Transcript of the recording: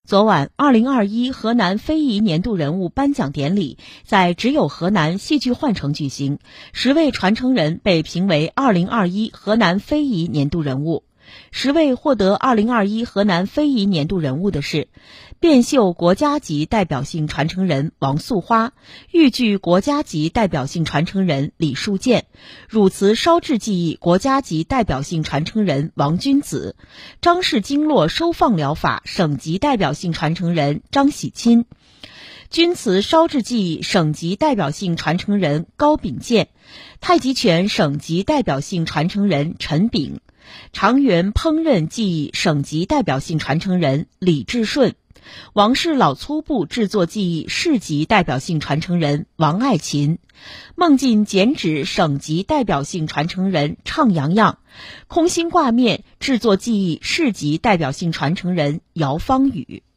昨晚，2021河南非遗年度人物颁奖典礼在只有河南戏剧幻城举行，10位传承人被评为2021河南非遗年度人物。10位获得2021河南非遗年度人物的是：变绣国家级代表性传承人王素花，豫剧国家级代表性传承人李树建，汝瓷烧制技艺国家级代表性传承人王君子，张氏经络收放疗法省级代表性传承人张喜钦，钧瓷烧制技艺省级代表性传承人高秉建，太极拳省级代表性传承人陈炳，长垣烹饪技艺省级代表性传承人李志顺，王氏老粗布制作技艺市级代表性传承人王爱琴，孟晋剪纸省级代表性传承人畅洋洋，空心挂面制作技艺市级代表性传承人姚芳宇。